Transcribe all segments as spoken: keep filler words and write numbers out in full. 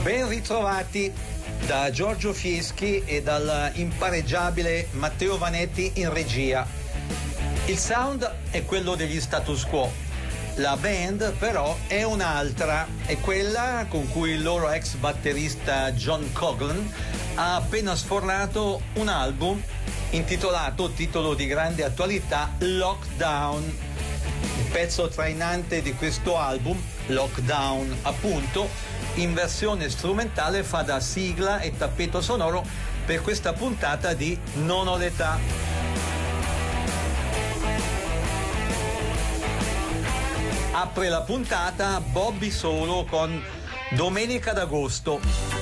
Ben ritrovati da Giorgio Fieschi e dal impareggiabile Matteo Vanetti in regia. Il sound è quello degli Status Quo, la band però è un'altra, è quella con cui il loro ex batterista John Coughlan ha appena sfornato un album intitolato, titolo di grande attualità, Lockdown. Il pezzo trainante di questo album, Lockdown appunto, in versione strumentale fa da sigla e tappeto sonoro per questa puntata di Non ho l'età. Apre la puntata Bobby Solo con Domenica d'Agosto.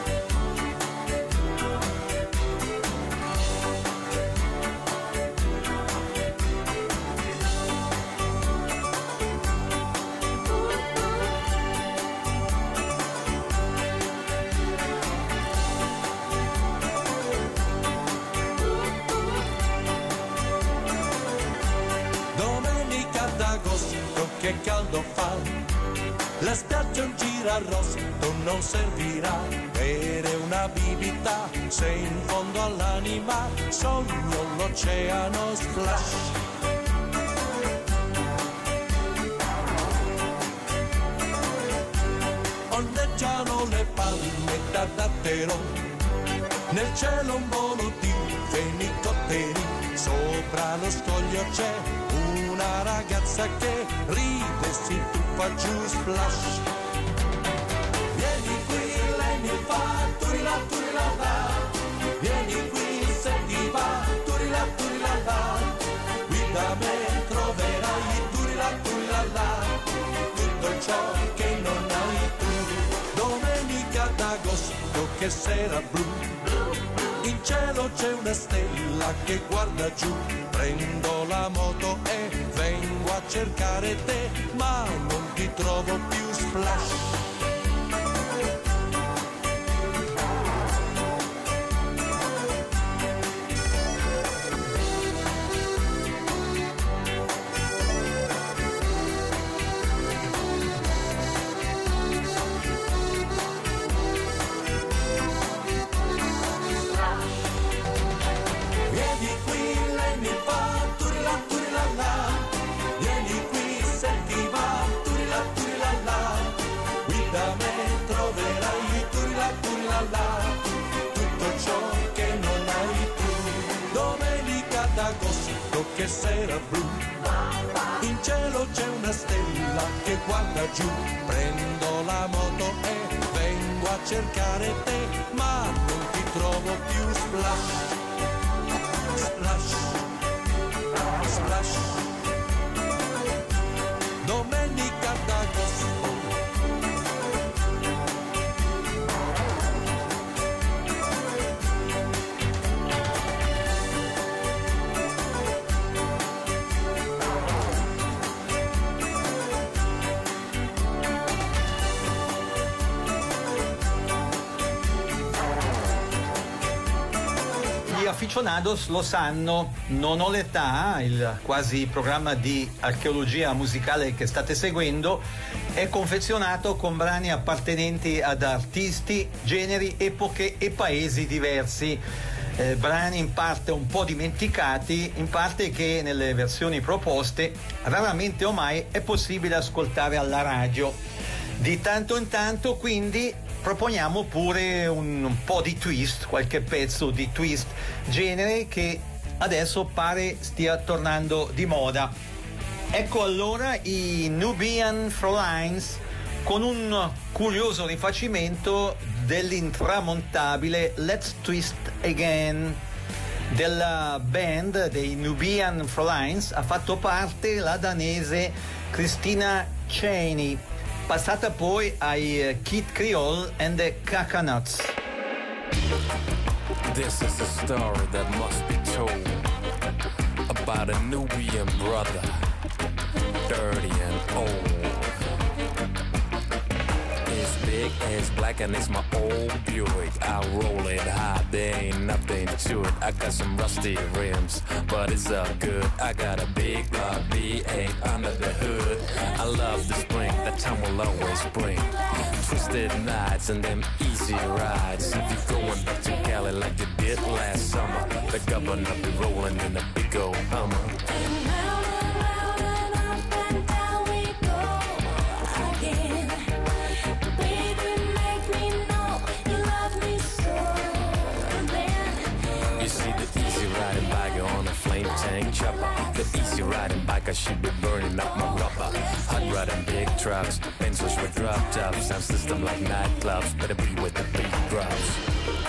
Che caldo fa, la spiaggia un girarrosto non servirà, bere una bibita se in fondo all'anima sogno l'oceano splash. Ondeggiano le palme da dattero, nel cielo un volo di fenicotteri, sopra lo scoglio c'è una ragazza che ride, si tuffa giù, splash. Vieni qui, lei mi fa turila turila la, vieni qui se ti va, turila turila la, qui da me troverai turila turila la, tutto ciò che non hai tu. Domenica d'agosto, che sera blu, in cielo c'è una stella che guarda giù, prendo la moto e vengo a cercare te, ma non ti trovo più, splash. Che sera blu, in cielo c'è una stella che guarda giù, prendo la moto e vengo a cercare te, ma non ti trovo più, splash, splash, splash. Domenica d'agosto. Gli aficionados lo sanno, Non ho l'età, il quasi programma di archeologia musicale che state seguendo, è confezionato con brani appartenenti ad artisti, generi, epoche e paesi diversi. Eh, brani in parte un po' dimenticati, in parte che nelle versioni proposte raramente o mai è possibile ascoltare alla radio. Di tanto in tanto quindi proponiamo pure un, un po' di twist, qualche pezzo di twist, genere che adesso pare stia tornando di moda. Ecco allora i Nubian Frauleins con un curioso rifacimento dell'intramontabile Let's Twist Again. Della band dei Nubian Frauleins ha fatto parte la danese Christina Cheney, passata poi ai Kid Creole and the Coconuts. This is a story that must be told about a Nubian brother, dirty and old. His big big ass black and it's my old Buick. I roll it high, there ain't nothing to it. I got some rusty rims, but it's all good. I got a big block V eight under the hood. I love the spring, that time will always bring twisted nights and them easy rides. If you're going back to Cali like you did last summer, the governor be rolling in a big old Hummer. Riding biker on a flame tank chopper. The easy riding biker, she be burning up my rubber. Hot riding big trucks, pencils with drop tops. Sound system like nightclubs, better be with the big drops.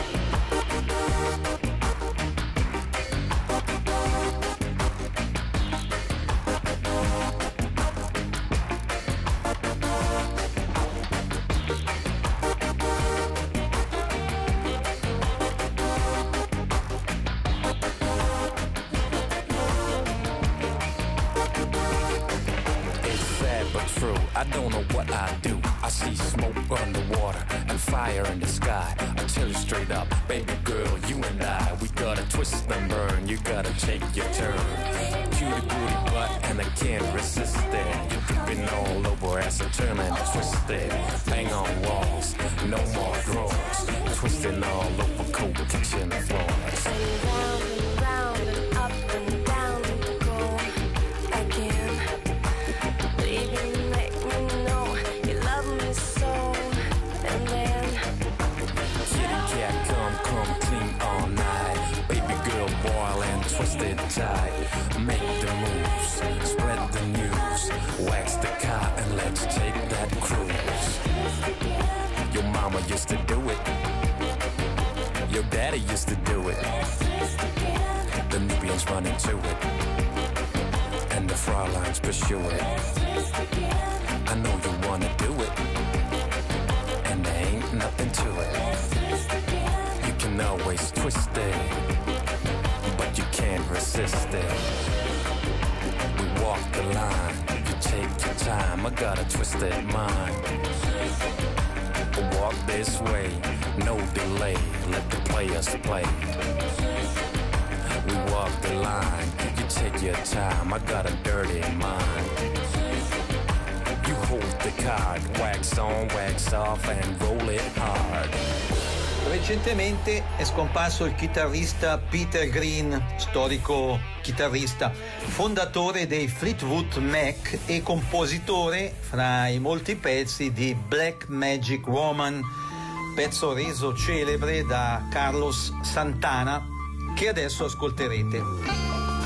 I don't know what I do. I see smoke underwater and fire in the sky. I tell you straight up, baby girl, you and I, we gotta twist and burn. You gotta take your turn. Cutie booty butt and I can't resist it. You dripping all over as I turn and twist it. Bang on walls, no more drawers. Twisting all over cold kitchen floors. And round and round and up and down and go again. Baby, make me know you love me so. And then kitty cat, come, come clean all night. Baby girl, boil and twist it tight. Make the moves, spread the news. Wax the car and let's take that cruise. Your mama used to do it. Your daddy used to do it. The Nubians run into it. And the Fraulein's pursue it. I know you wanna do it. And there ain't nothing to it. You can always twist it, but you can't resist it. We walk the line, you take your time. I got a twisted mind. Walk this way, no delay. Let the players play. We walk the line, you take your time. I got a dirty mind. You hold the card, wax on, wax off and roll it hard. Recentemente è scomparso il chitarrista Peter Green, storico chitarrista, fondatore dei Fleetwood Mac e compositore fra i molti pezzi di Black Magic Woman, pezzo reso celebre da Carlos Santana, che adesso ascolterete.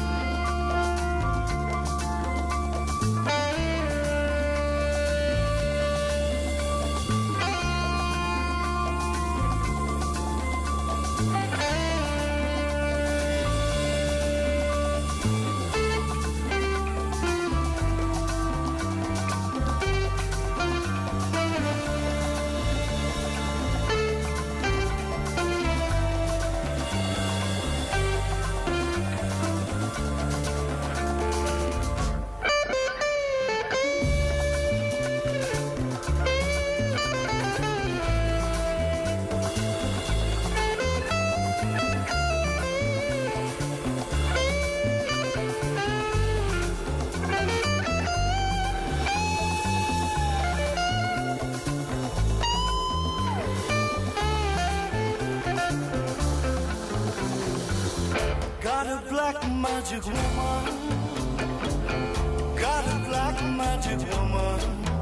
Magic woman, got a black magic woman.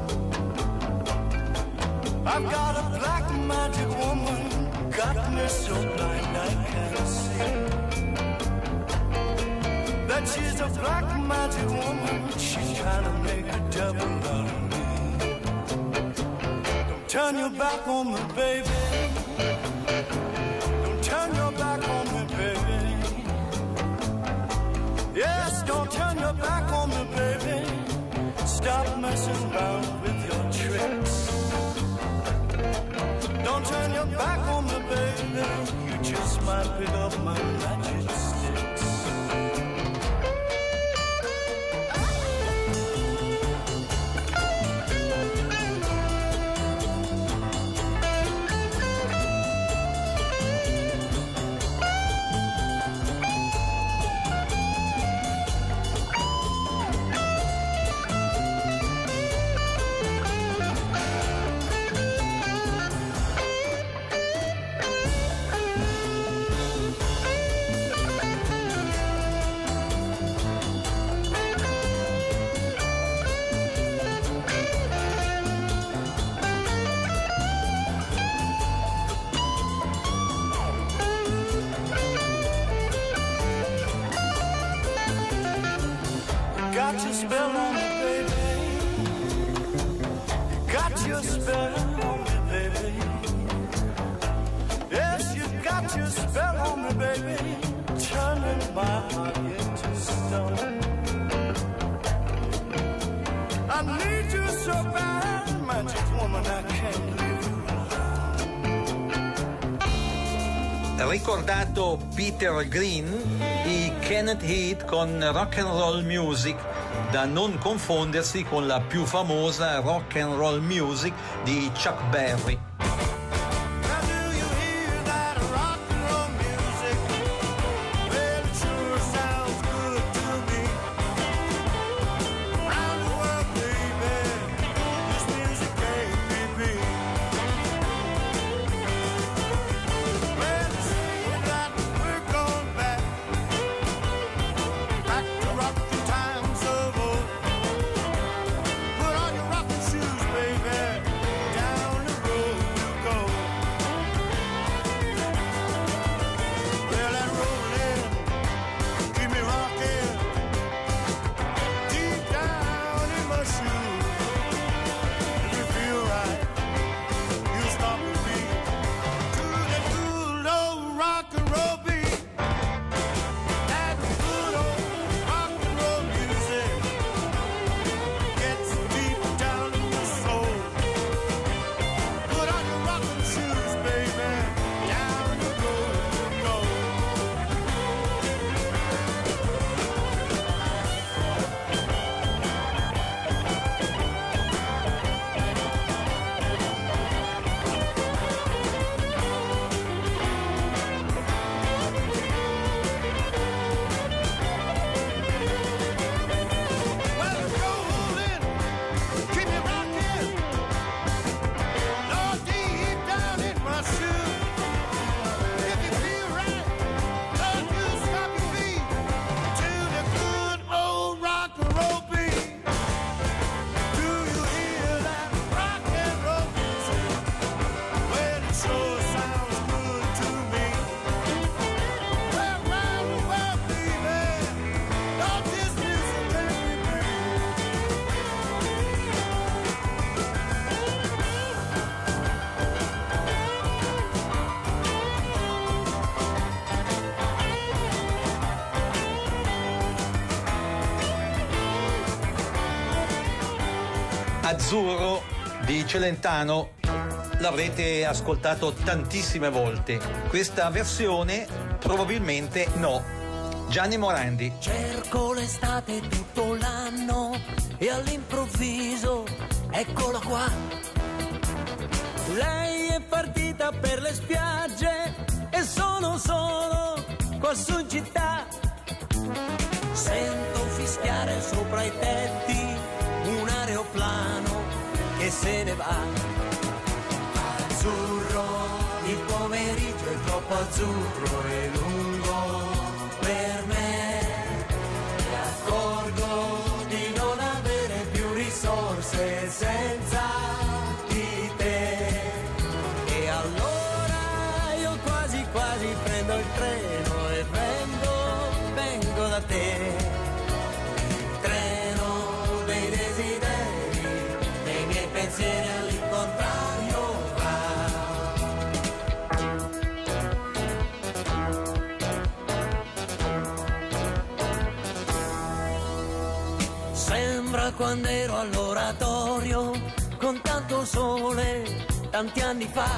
I've got a black magic woman, got me so blind I can't see. That she's a black magic woman, she's trying to make a devil out of me. Don't turn your back on me, baby. Don't turn your back on me, baby. Yes, don't turn your back on me, baby. Stop messing around with your tricks. Don't turn your back on me, baby. You just might pick up my magic sticks. got your spell on me, baby. Got your spell on me, baby. Yes, you got your spell on me, baby. Turning my heart into stone. I need you so bad, magic woman, I can't leave you alone. Ricordato Peter Green, i Kenneth Heat con Rock and Roll Music, da non confondersi con la più famosa Rock and Roll Music di Chuck Berry. Azzurro di Celentano l'avrete ascoltato tantissime volte. Questa versione probabilmente no. Gianni Morandi. Cerco l'estate tutto l'anno e all'improvviso eccola qua. Lei è partita per le spiagge e sono solo qua su in città. Sento fischiare sopra i tetti un aeroplano che se ne va. Azzurro, il pomeriggio è troppo azzurro e lungo per me. Mi accorgo di non avere più risorse senza di te. E allora io quasi quasi prendo il treno e vengo, vengo da te. Pensieri all'incontrario va. Sembra quando ero all'oratorio con tanto sole tanti anni fa.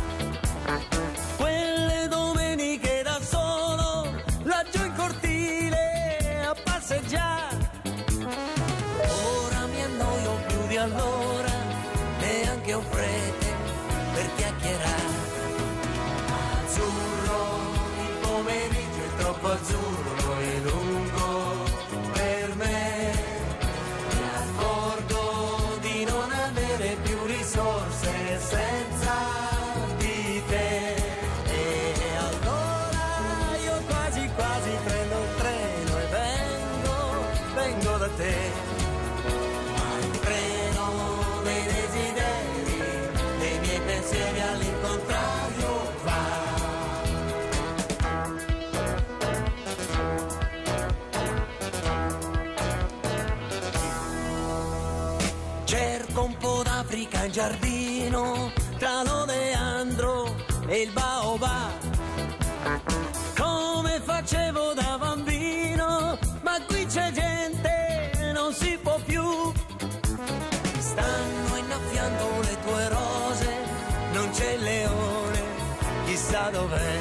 Quelle domeniche da solo laggiù in cortile a passeggiare. Ora mi annoio più di allora, neanche ho fretta per chiacchierare. Azzurro, il pomeriggio è troppo azzurro e lungo per me. Mi accorgo di non avere più risorse senza di te. E allora io quasi quasi prendo il treno e vengo, vengo da te. Pensieri all'incontrario va. domenica in giardino tra l'oleandro e il baobab, come facevo da bambino, ma qui c'è gente, non si può più. Stanno innaffiando le tue rose, non c'è il leone, chissà dov'è.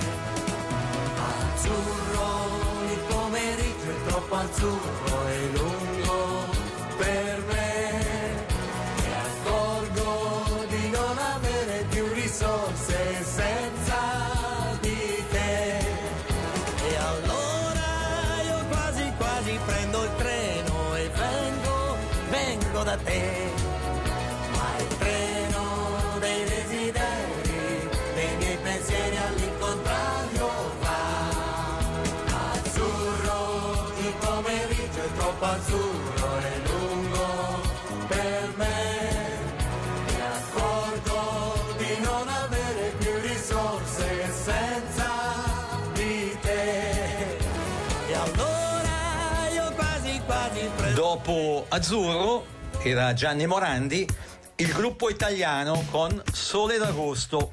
Azzurro, il pomeriggio è troppo azzurro e lungo per me, e accorgo di non avere più risorse senza di te. E allora io quasi quasi prendo il treno e vengo, vengo da te. Ma il treno dei desideri, dei miei pensieri all'incontrario va. Azzurro, il pomeriggio è troppo azzurro e lungo per me, mi accorgo di non avere più risorse senza di te. E allora io quasi quasi prendo. Dopo Azzurro era Gianni Morandi, il gruppo italiano con Sole d'agosto.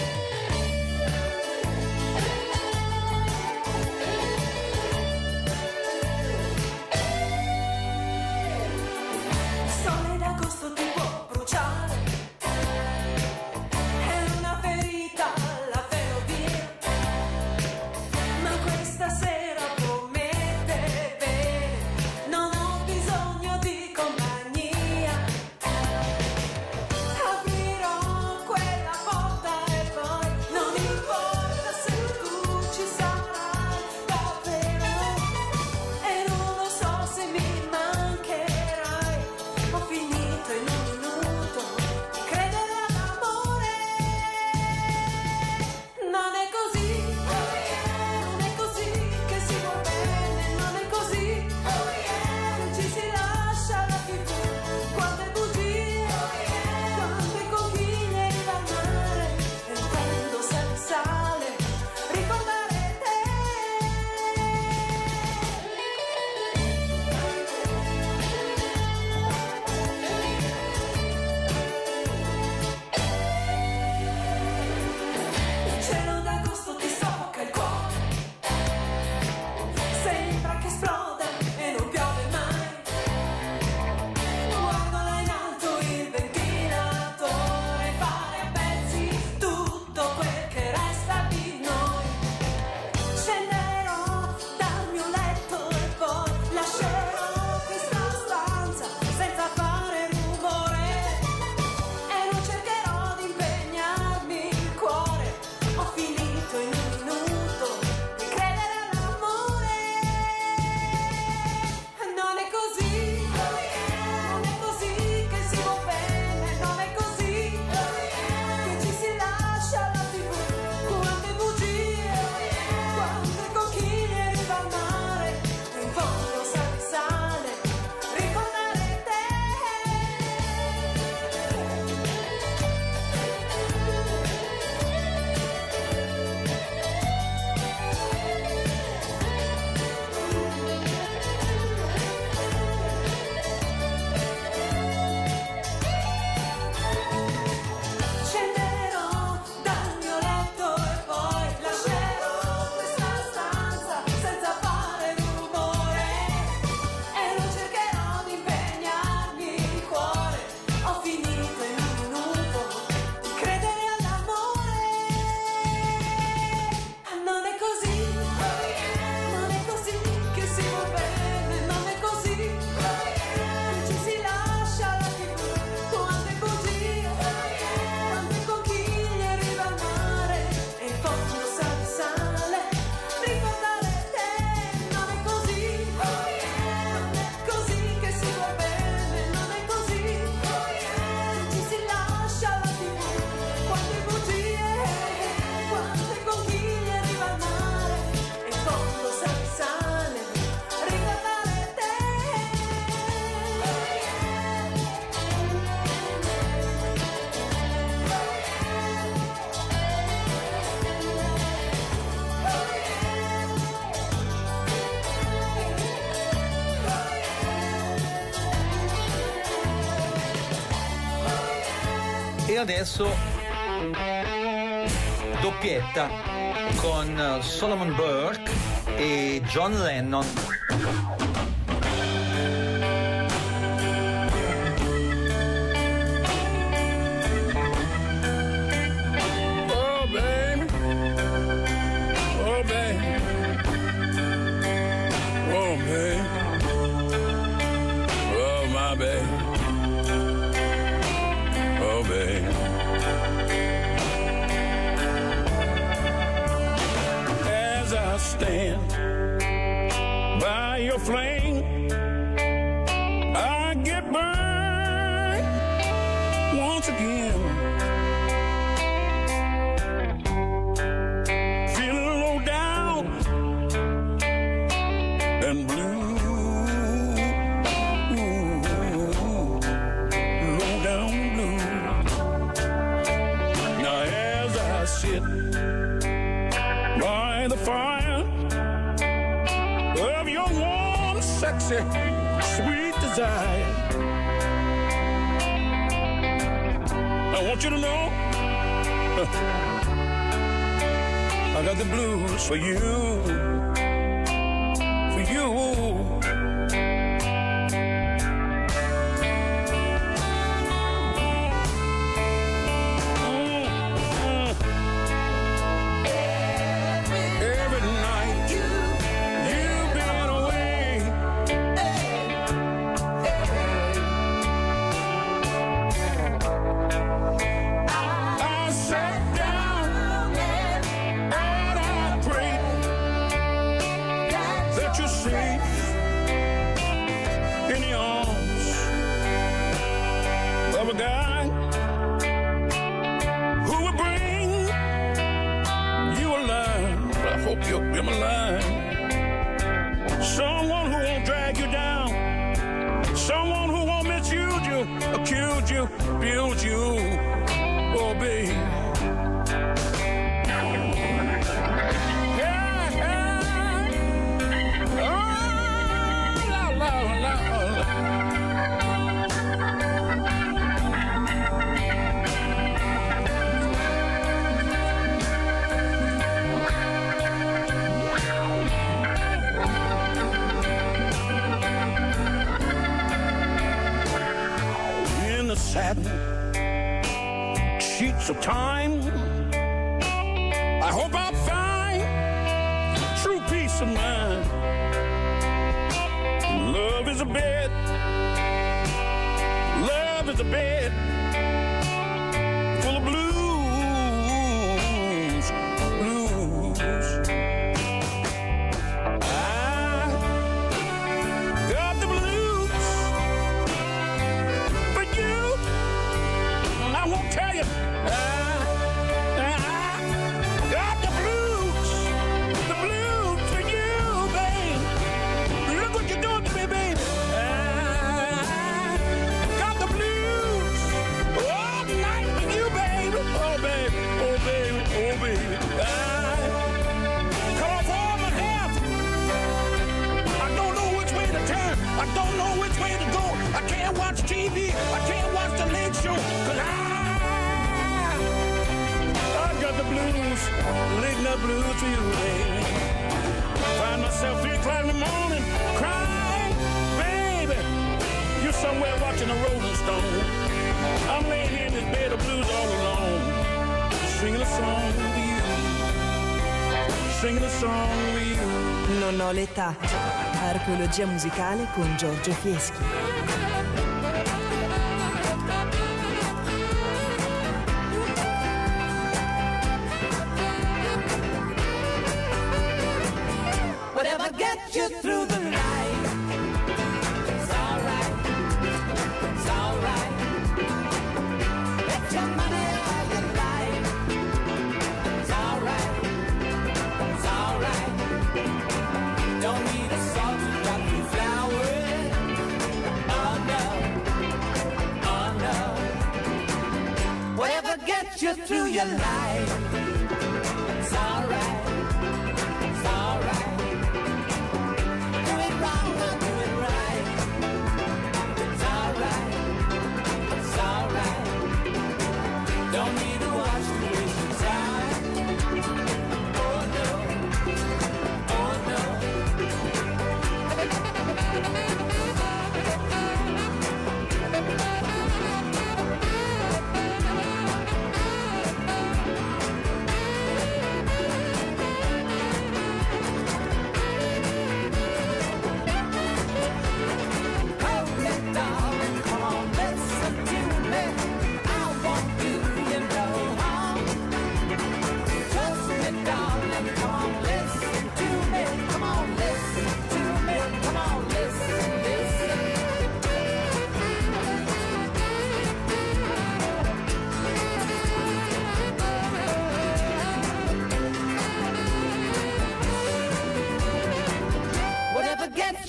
Sole d'agosto ti può bruciare, è una ferita alla ferrovia, ma questa sera promette bene, non ho bisogno di compagnia. Aprirò quella porta e E adesso doppietta con Solomon Burke e John Lennon. Oh baby, oh baby, oh baby, oh my baby, oh baby. I stand by your flame, I get burned once again, feeling low down and blue, low down blue. Now as I sit by the fire of your warm, sexy, sweet desire, I want you to know I got the blues for you, for you. Someone who won't drag you down, someone who won't misuse you, accuse you, abuse you, oh baby. Yeah, yeah. Oh, la, la, la, la. Satin sheets of time, I hope I'll find true peace of mind. Love is a bed, love is a bed full of blues, blues. I got the blues for you. I won't tell you. I, I got the blues, the blues for you, babe. Look what you're doing to me, baby. I got the blues all night for you, baby. Oh, baby, oh, baby, oh, baby. I cut off all my hair. I don't know which way to turn. I don't know which way to go. I can't watch T V. I can't watch the Late Show. Cause I got the blues, late night blues for you, baby. Find myself three o'clock in the morning, crying, baby. You're somewhere watching a Rolling Stone. I'm laying here in this bed of blues all alone, singing a song with you, singing a song with you. Non ho l'età. Archeologia musicale con Giorgio Fieschi. Get you through the night. It's alright. It's alright. Get your money all you like. It's alright. It's alright. Don't need a salt to drop you flowers. Oh no. Oh no. Whatever gets you through your life. It's alright. It's alright.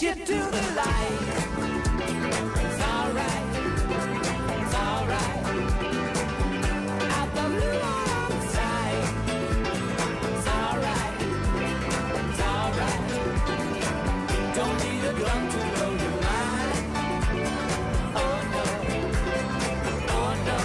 you to the light. It's alright, it's alright. Out the blue outside. It's alright, it's alright. Don't need a gun to blow your mind. Oh no, oh no.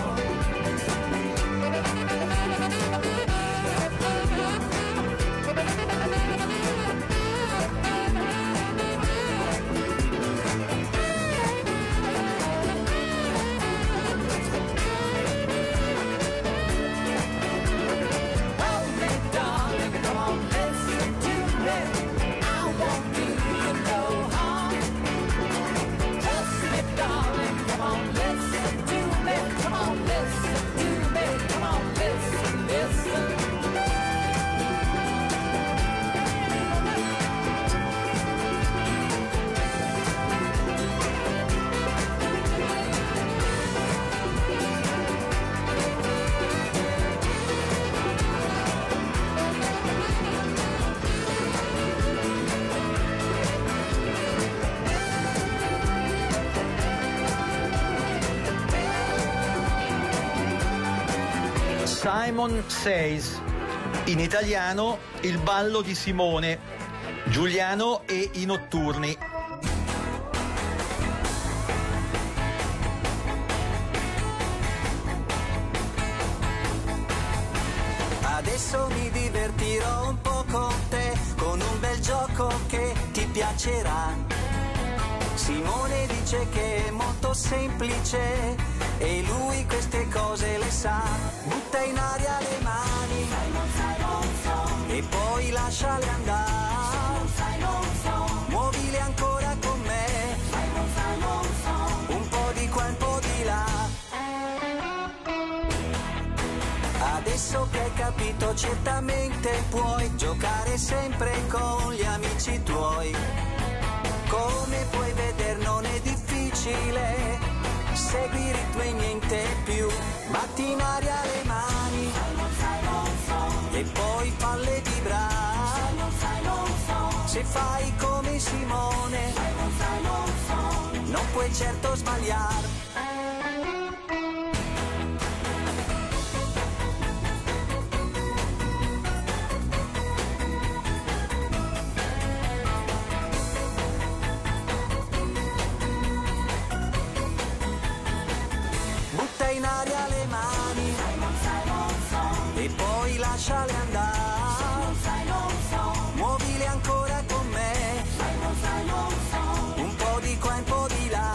Simon Says, in italiano Il ballo di Simone, Giuliano e i notturni. Adesso mi divertirò un po' con te, con un bel gioco che ti piacerà. Simone dice che è molto semplice e lui queste cose le sa. Butta in aria le mani e poi lasciale andare. Muovile ancora con me, un po' di qua, un po' di là. Adesso che hai capito certamente puoi giocare sempre con gli amici tuoi. Come puoi vedere non è difficile, segui il ritmo e niente più. Batti in aria le mani e poi falle vibrare. Se fai come Simone non puoi certo sbagliare. In aria le mani e poi lasciale andare. Muovile ancora con me, un po' di qua, un po' di là.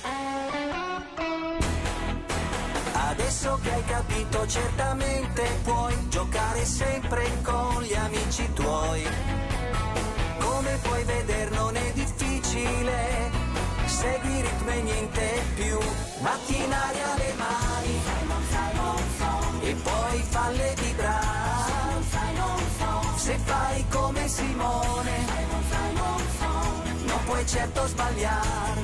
Adesso che hai capito certamente puoi giocare sempre con gli amici tuoi. Come puoi vedere non è difficile, segui il ritmo e niente più. Batti in aria le mani e poi falle vibrare. Se fai come Simone non puoi certo sbagliare.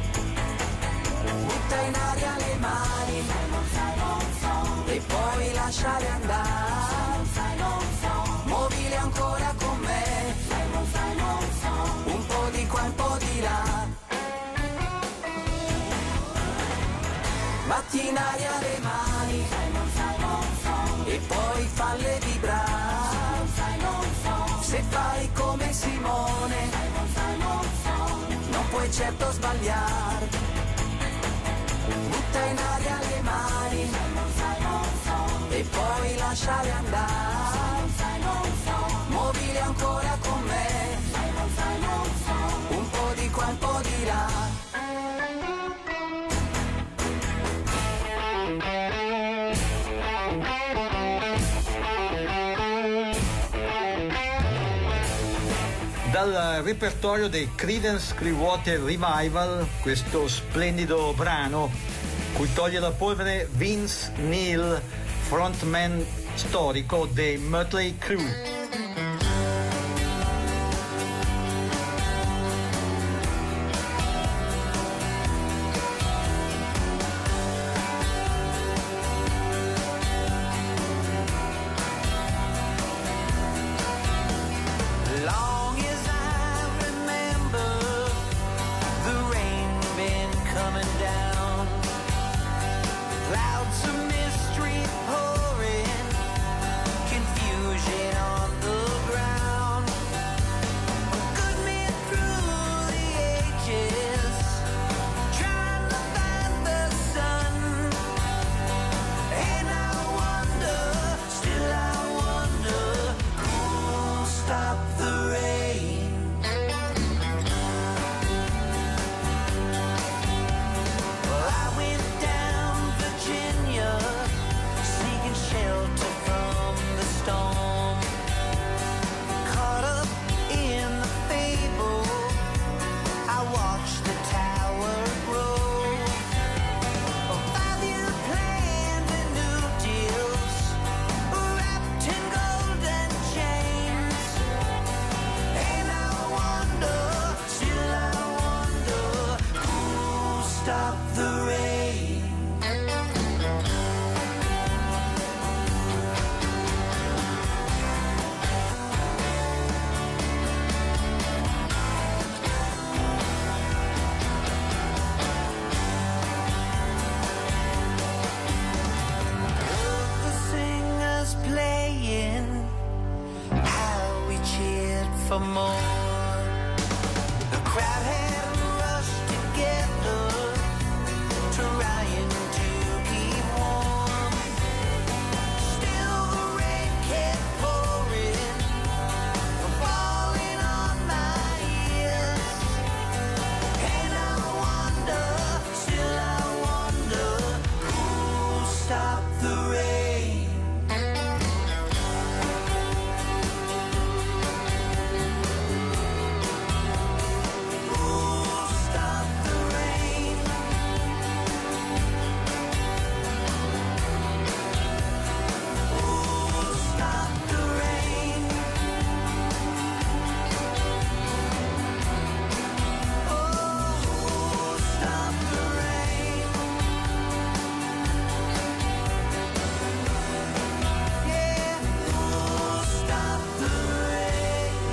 Butta in aria le mani e poi lasciale andare. Muovile ancora con me, un po' di qua, un po' di là. Batti in aria le mani e poi falle vibrare. Se fai come Simone non puoi certo sbagliare. Butta in aria le mani e poi lasciale andare. Muovile ancora con me, un po' di qua, un po' di là. Dal repertorio dei Creedence Clearwater Revival, questo splendido brano cui toglie la polvere Vince Neil, frontman storico dei Mötley Crüe. Long as I remember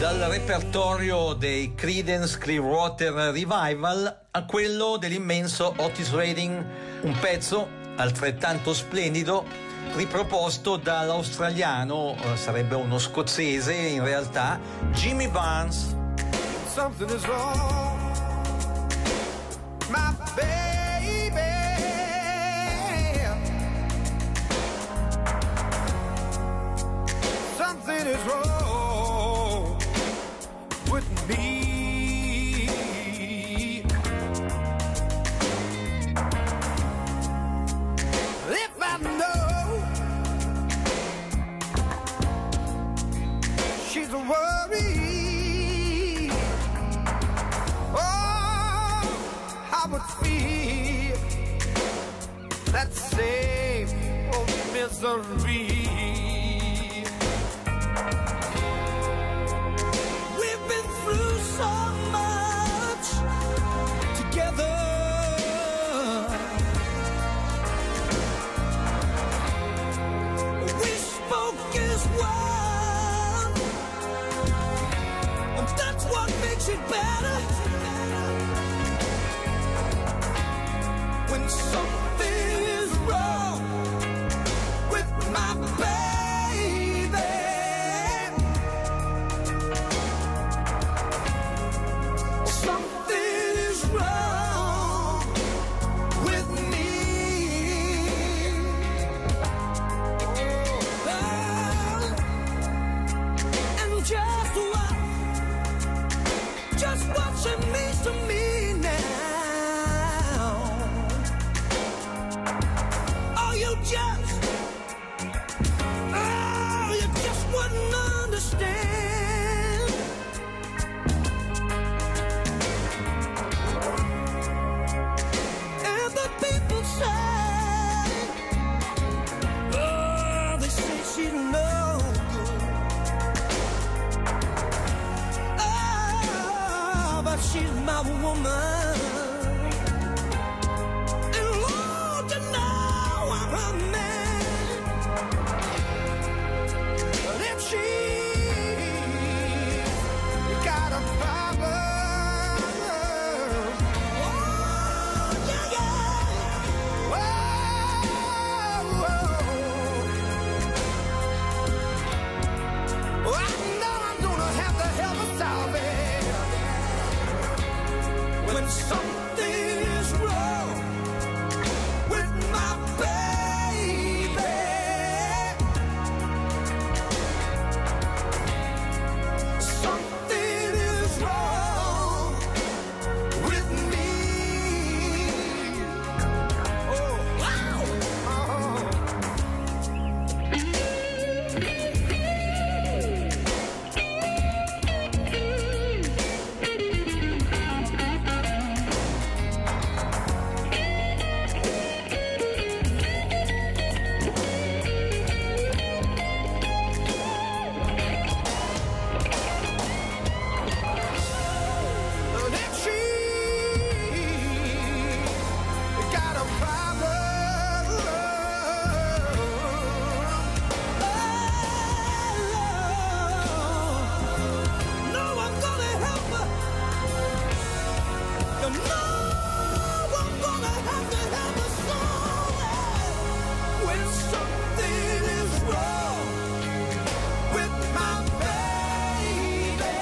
Dal repertorio dei Creedence Clearwater Revival a quello dell'immenso Otis Redding, un pezzo altrettanto splendido riproposto dall'australiano, eh, sarebbe uno scozzese in realtà, Jimmy Barnes. Something is wrong, my baby. Something is wrong with me. If I know she's a worry, oh, I would feel that same old misery. We've been through so much together. We spoke as one, and that's what makes it better. When something is wrong with my baby, something is wrong with me. Oh, and just what, just what she means to me now. Oh, you just, oh, you just wouldn't understand. And the people say, oh, they say she's no good. Oh, but she's my woman. And Lord, you know I'm her man. But if she got a problem, oh, yeah, yeah. Whoa, whoa. Oh, I know I'm gonna have to help her solve it. When something is wrong with my baby, something is wrong with me. Oh, wow. Oh. And if she got a problem, oh, no, I'm gonna help her. You know I'm gonna have to help her solve it. When something is wrong with my baby,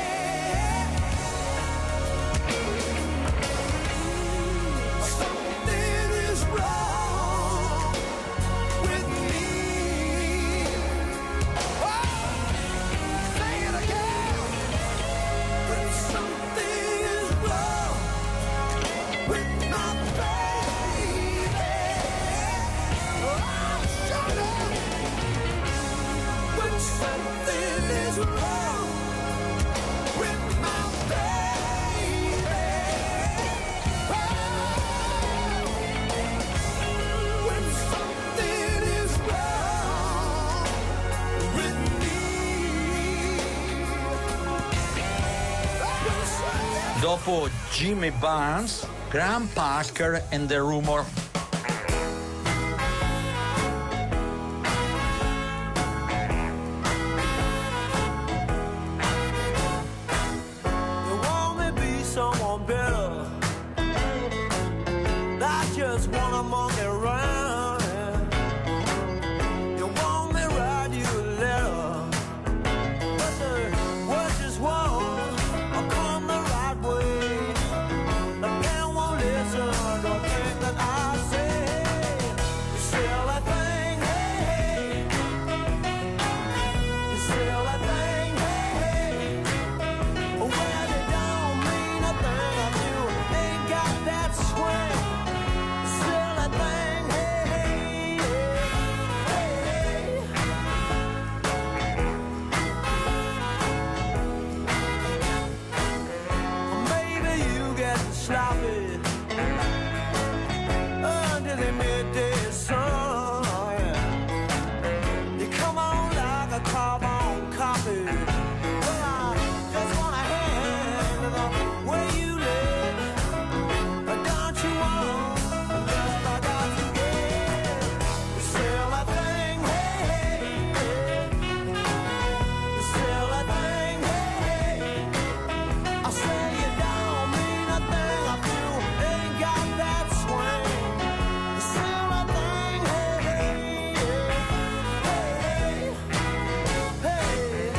something is wrong with me. Oh, say it again. When something is wrong with my baby. Oh, shut up. When something is wrong with my baby. Oh, when something is wrong with me. Dopo Jimmy Barnes, Graham Parker and the Rumor. want better. I just wanna monkey around. You want me write you a letter, but the words just won't come the right way. The pen won't listen, don't think that I say. You silly thing, hey, hey. You silly thing, hey, hey. Well, it don't mean a thing if you ain't got that swing. Silly thing, hey, hey, hey, hey. Maybe you get sloppy under the midday sun. You come on like a carbon copy. Well, I just wanna hand the way you live. Don't you want just like I forget? You silly thing, hey, hey, hey. You silly thing, hey, hey. I say you don't mean a thing if you ain't got that swing. You silly thing, hey, hey, hey, hey, hey.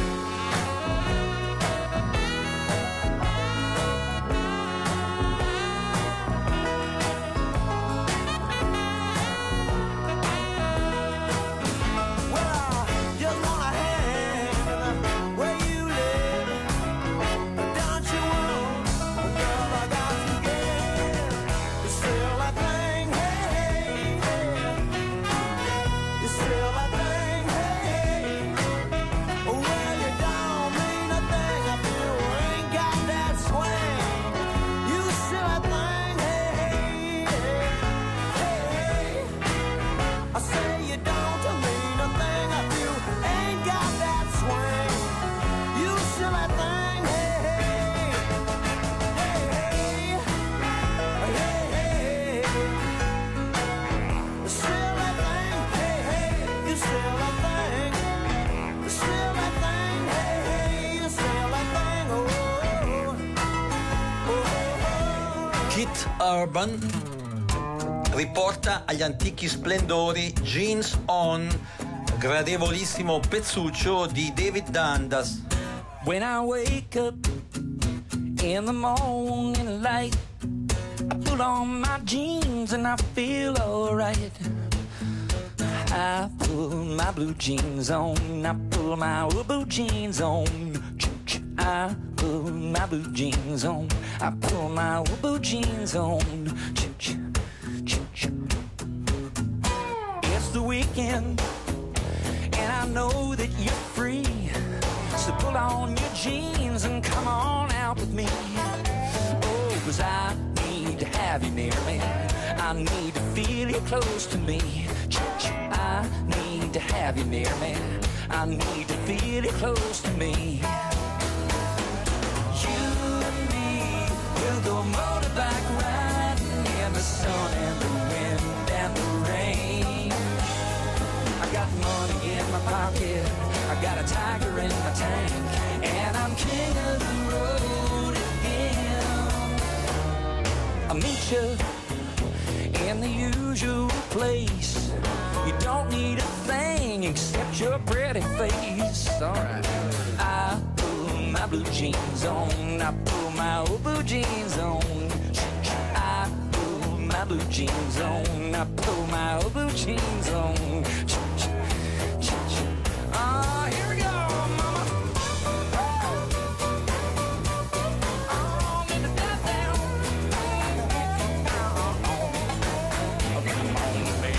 Well, I just wanna hand where you live. Don't you want a girl like I forget? You silly thing, hey, hey, hey. You silly thing, hey, hey. Well, you don't mean a thing if you ain't got that swing. You silly thing, hey, hey, hey. I say you don't mean a thing if you ain't got that swing. You silly thing, hey, hey, hey, hey, hey, hey. You silly thing, hey, hey, you silly thing. You silly thing, hey, hey, you silly thing, oh, oh, oh. Keith Urban riporta agli antichi splendori Jeans On, gradevolissimo pezzuccio di David Dundas. When I wake up in the morning light, I put on my jeans and I feel alright. I pull my blue jeans on, I pull my blue jeans on. I pull my blue jeans on, I pull my blue jeans on. It's the weekend, and I know that you're free. So pull on your jeans and come on out with me. Oh, 'cause I need to have you near me. I need to feel you close to me. I need to have you near me. I need to feel you close to me. You and me will go motorbike riding in the sun and the wind and the rain. I got money in my pocket, I got a tiger in my tank, and I'm king of the road again. I'll meet you in the usual place. You don't need a thing except your pretty face. Alright. I pull my blue jeans on, I pull my old blue jeans on. I pull my blue jeans on, I pull my old blue jeans on. Ah, here we go, mama. Oh, get the dance down. Oh, come on, baby.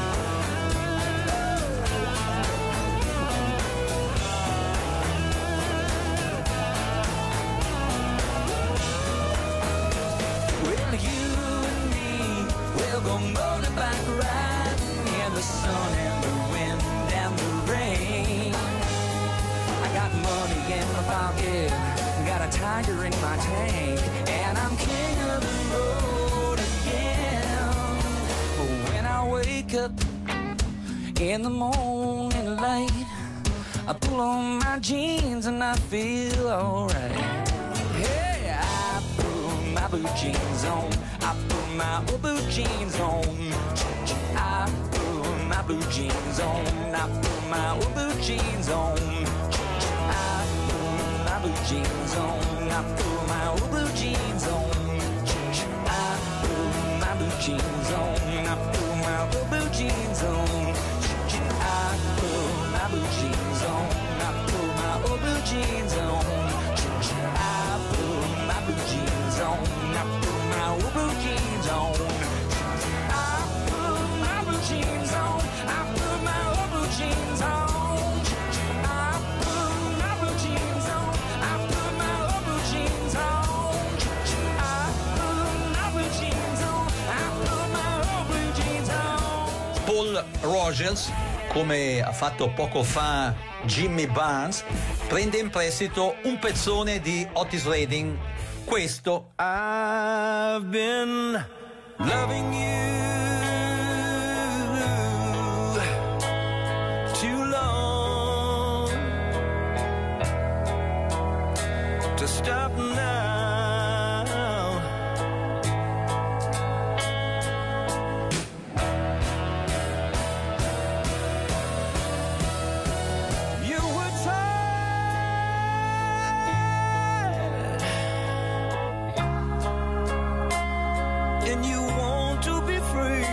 Well, you and me, we'll go motorbike riding in the sun and the wind and the rain. I got money in my pocket, got a tiger in my tank, and I'm king of the road again. When I wake up in the morning light, I pull on my jeans and I feel alright. Hey, I pull my blue jeans on. I put my blue jeans on. I put my blue jeans on. I put my blue jeans on. I put my blue jeans on. I put my blue jeans on. I put my blue jeans on. I put my blue jeans on. I put my blue jeans on. I put my blue jeans on. I put my blue jeans on. I put my blue jeans on. I put my blue jeans on. I put my blue jeans on. I put my blue jeans on. I put my blue jeans on. I put my blue jeans on. I put my blue jeans on. Paul Rogers, come ha fatto poco fa Jimmy Barnes, prende in prestito un pezzone di Otis Redding, questo. I've been loving you too long to stop now. You were tired and you want to be free.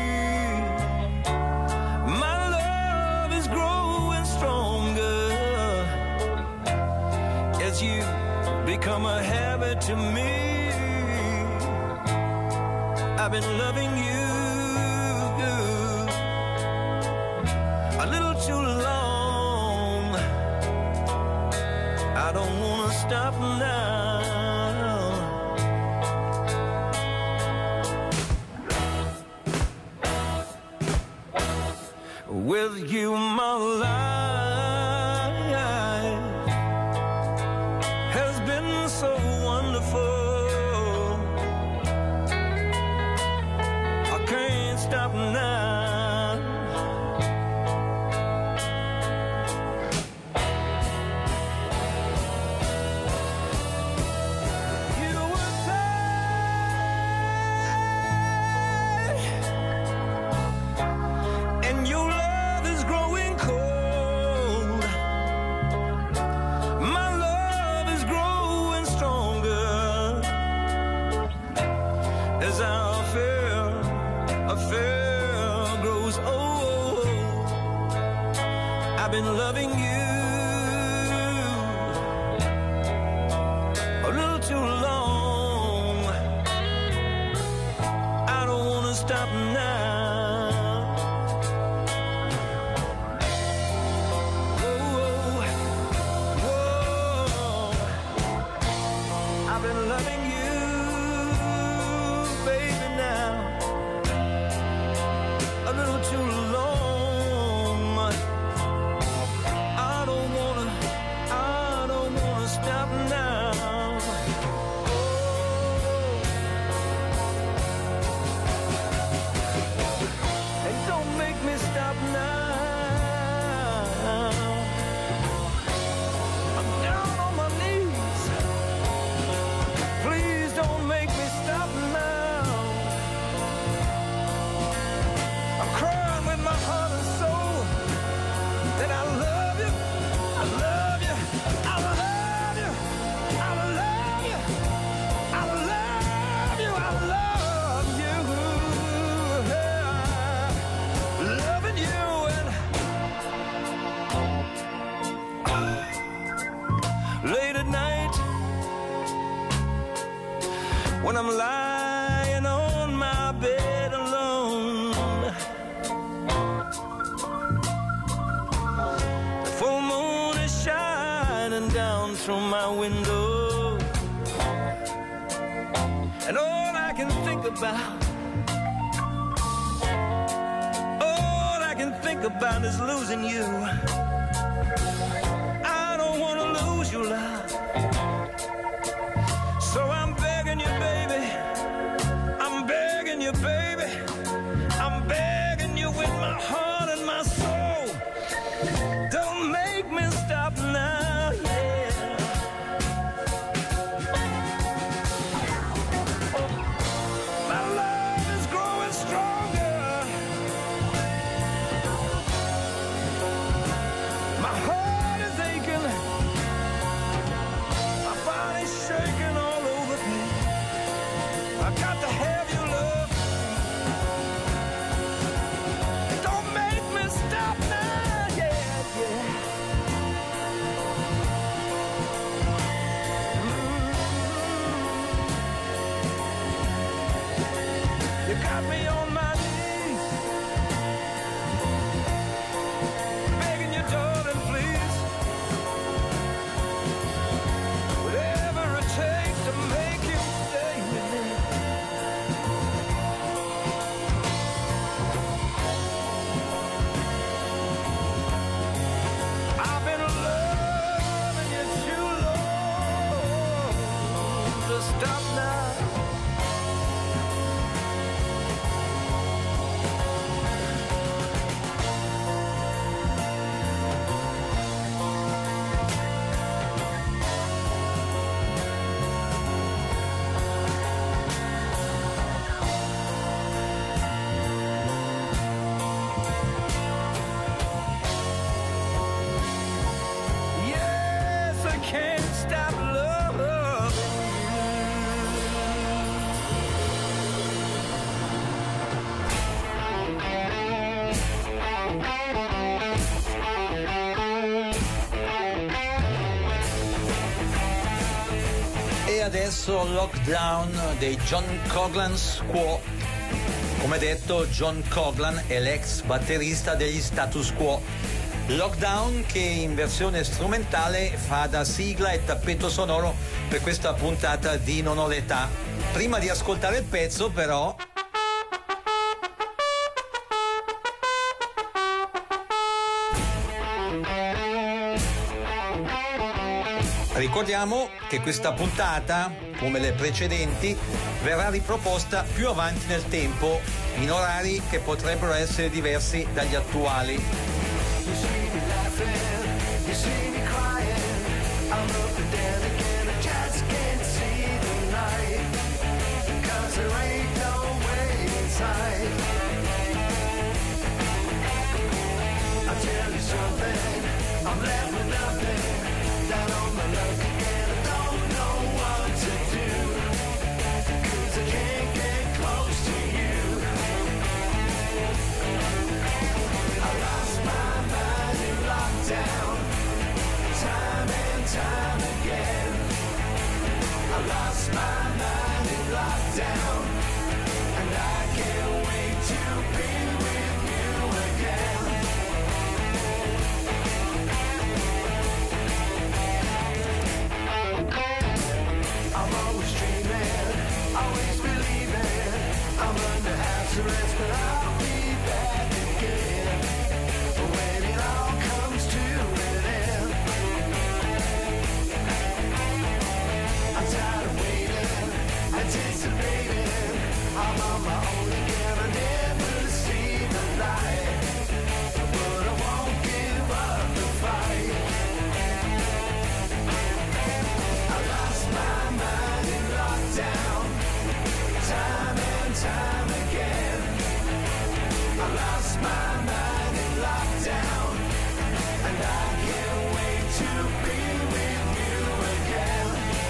My love is growing stronger as you become a habit to me. I've been loving you a little too long. I don't wanna stop now. With you, my life has been so wonderful. I can't stop now. You were tired and your love is growing cold. My love is growing stronger as our affair, affair grows old. I've been loving you a little too long. I don't wanna stop now. Whoa, whoa. I've been loving you, baby, now a little too long. I don't wanna, I don't wanna stop now. Oh. And don't make me stop now. I'm down on my knees. Please don't make me stop now. I'm crying with my heart and soul that I love you, I love you, I love you, I love you, I love you, I love you. Yeah. Loving you and late at night when I'm lying on my bed alone, the full moon is shining down through my window, and all I can think about, all I can think about is losing you. I don't want to lose you, love. So I'm begging you, baby. I'm begging you, baby. I'm begging you with my heart and my soul. Don't make me stop now, yeah. got me on my knees, begging you, darling, please, whatever it takes to make you stay with me. I've been loving you too long to stop now. Yes, I can't stop loving E adesso Lockdown dei John Coughlan Quo. Come detto, John Coughlan è l'ex batterista degli Status Quo. Lockdown che in versione strumentale fa da sigla e tappeto sonoro per questa puntata di Non ho l'età. Prima di ascoltare il pezzo, però, ricordiamo che questa puntata, come le precedenti, verrà riproposta più avanti nel tempo, in orari che potrebbero essere diversi dagli attuali. You see me laughing, you see me crying. I'm up and down again, I just can't see the light. Cause there ain't no way inside. I'll tell you something, I'm left with nothing. Down on my luck again, I don't know what to do. Cause I can't get close to you. I lost my mind in lockdown, time and time again. I lost my mind in lockdown, and I can't wait to be with you again. I'm always dreaming, always believing. I'm under house arrest, but I'll be back again. When it all comes to an end, I'm tired of waiting, anticipating. I'm on my own again, I never see the light, but I won't give up the fight. I lost my mind in lockdown, time and time again. I lost my mind in lockdown, and I can't wait to be with you again.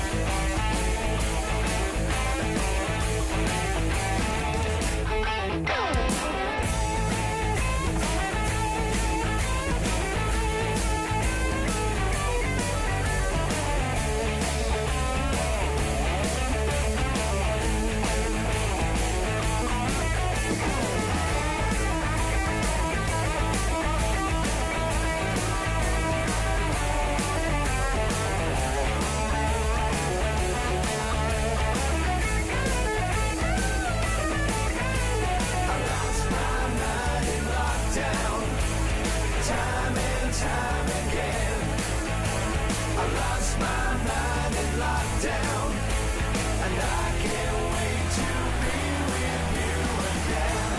I lost my mind in lockdown, time and time again. I lost my mind in lockdown, and I can't wait to be with you again.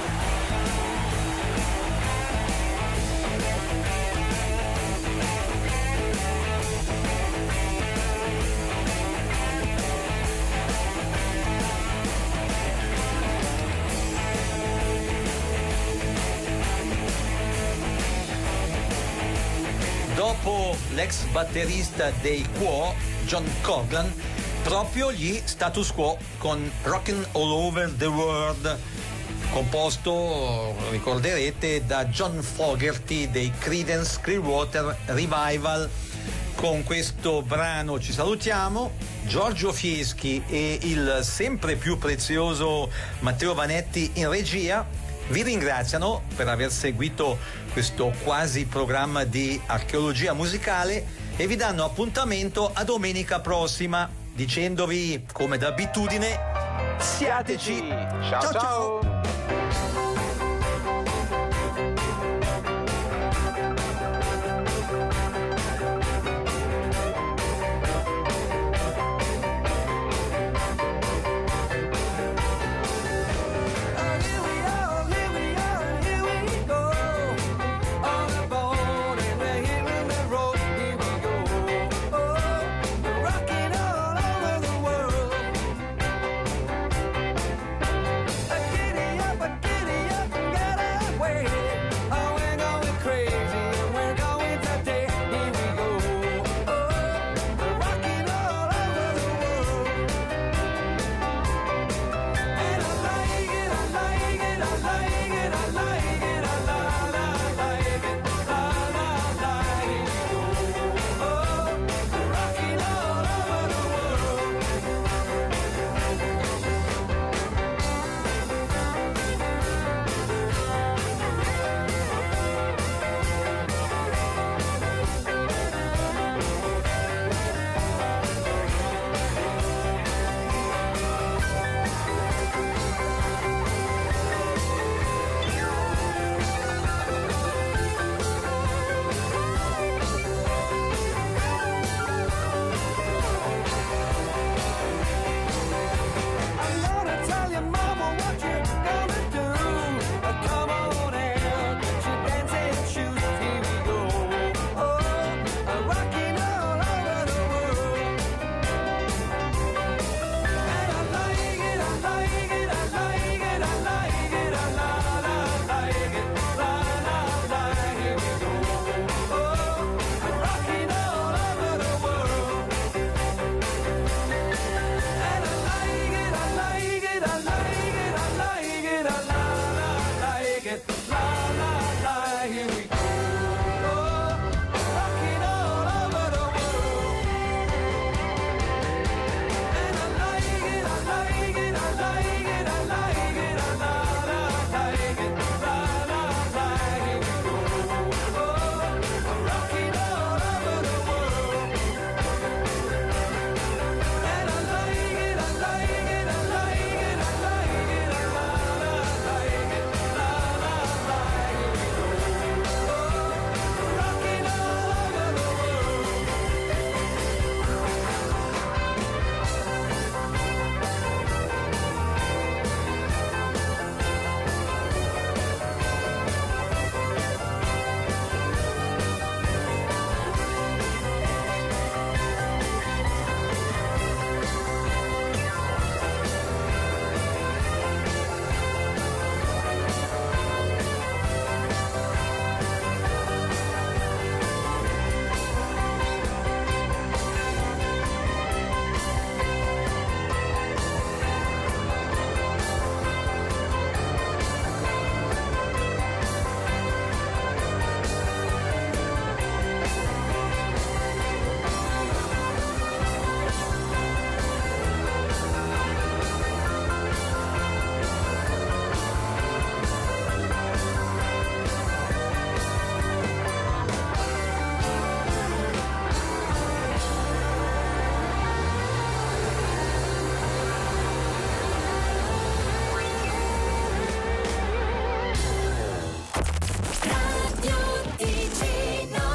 Dopo l'ex batterista dei Quo, John Coughlan, proprio gli Status Quo con Rockin' All Over the World, composto, ricorderete, da John Fogerty dei Creedence Clearwater Revival. Con questo brano ci salutiamo. Giorgio Fieschi e il sempre più prezioso Matteo Vanetti in regia vi ringraziano per aver seguito questo quasi programma di archeologia musicale e vi danno appuntamento a domenica prossima dicendovi, come d'abitudine, siateci. Ciao ciao. ciao.